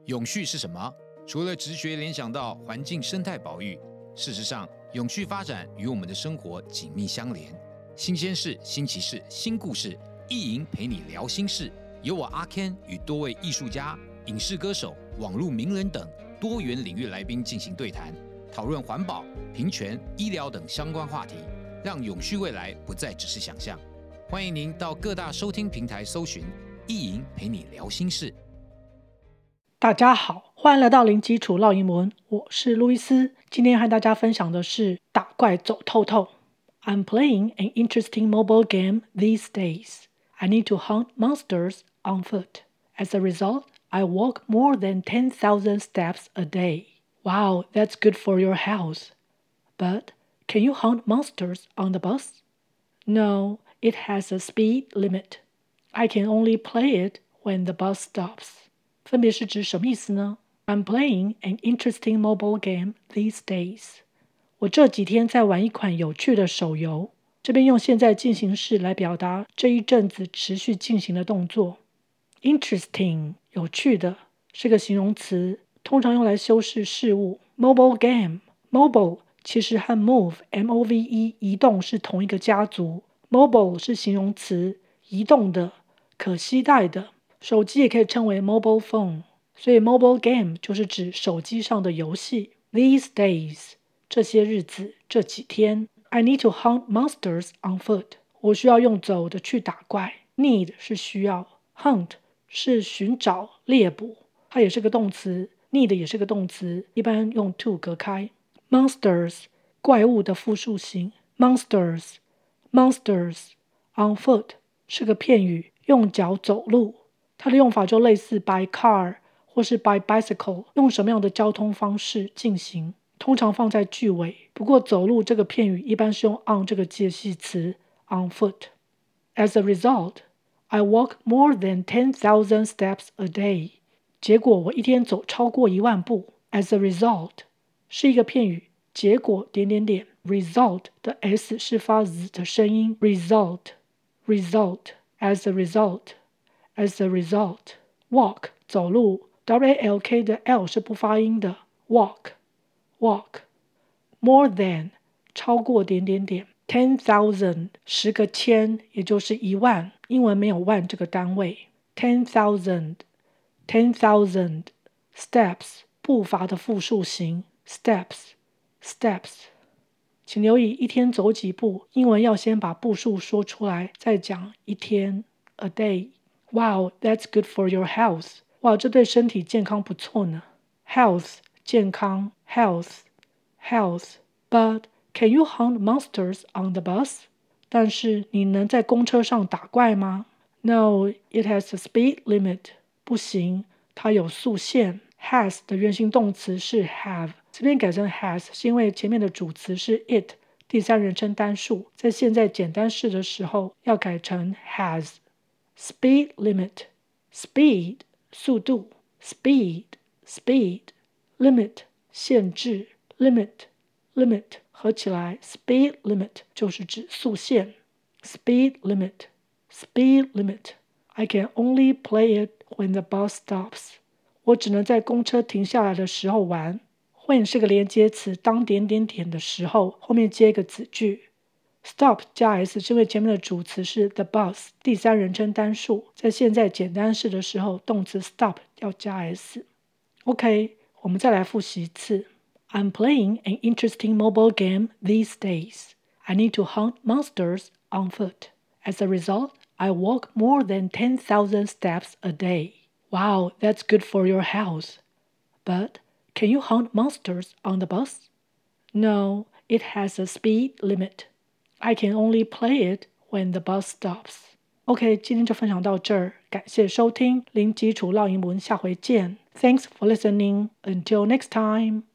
永續是什麼？除了直覺聯想到環境生態保育，事實上，永續發展與我們的生活緊密相連。新鮮事、新奇事、新故事，意淫陪你聊心事。由我阿 Ken 與多位藝術家、影視歌手、網絡名人等多元領域來賓進行對談，討論環保、平權、醫療等相關話題，讓永續未來不再只是想象。歡迎您到各大收聽平台搜尋“意淫陪你聊心事”。 大家好，歡迎來到零基礎繞英文，我是路易斯。今天和大家分享的是打怪走透透。I'm playing an interesting mobile game these days. I need to hunt monsters on foot. As a result, I walk more than 10,000 steps a day. Wow, that's good for your health. But can you hunt monsters on the bus? No, it has a speed limit. I can only play it when the bus stops. 分別是指什麼意思呢？ I'm playing an interesting mobile game these days. 我這幾天在玩一款有趣的手遊。這邊用現在進行式來表達這一陣子持續進行的動作。Interesting 有趣的是個形容詞，通常用來修飾事物。Mobile game Mobile 其實和 move M-O-V-E 移動是同一個家族。Mobile 是形容詞，移動的、可攜帶的。手機也可以稱為 mobile phone， 所以 mobile game 就是指手機上的遊戲。These days 這些日子、這幾天。I need to hunt monsters on foot. 我需要用走的去打怪。Need 是需要， hunt 是尋找、獵捕，它也是個動詞。Need 也是個動詞，一般用 to 隔開。Monsters 怪物的複數形。Monsters on foot 是個片語，用腳走路。它的用法就類似 by car 或是 by bicycle， 用什麼樣的交通方式進行，通常放在句尾。不過走路這個片語一般是用 on 這個介系詞 on foot。 As a result, I walk more than 10,000 steps a day. 結果我一天走超過1萬步。As a result 是一個片語，結果點點點 result 的 s 是發 z 的聲音。result as a result walk 走路 walk 的 l 是不發音的 walk more than 超過點點點 10,000 10個千也就是1萬，英文沒有萬這個單位。 10,000 steps 步伐的複數形 steps。 請留意一天走幾步，英文要先把步數說出來，再講一天 a day。 Wow, that's good for your health. 哇，這對身體健康不錯呢。 Health 健康 health But can you hunt monsters on the bus? 但是你能在公車上打怪嗎？ No, it has a speed limit. 不行，它有速限。Has 的原形動詞是 have， 這邊改成 has 是因為前面的主詞是 it， 第三人稱單數，在現在簡單式的時候要改成 has。 Speed limit speed 速度 speed limit 限制 limit 合起來 speed limit 就是指速限。 speed limit I can only play it when the bus stops. 我只能在公車停下來的時候玩。when 是個連接詞，當點點點的時候後面接一個子句。Stop 加 s 是因為前面的主詞是 the bus， 第三人稱單數，在現在簡單式的时候動詞 stop 要加 s。 OK， 我們再來複習一次。 I'm playing an interesting mobile game these days. I need to hunt monsters on foot. As a result, I walk more than 10,000 steps a day. Wow, that's good for your health. But can you hunt monsters on the bus? No, it has a speed limit.I can only play it when the bus stops. OK， 今天就分享到這兒，感謝收聽，零基礎繞英文，下回見。Thanks for listening. Until next time.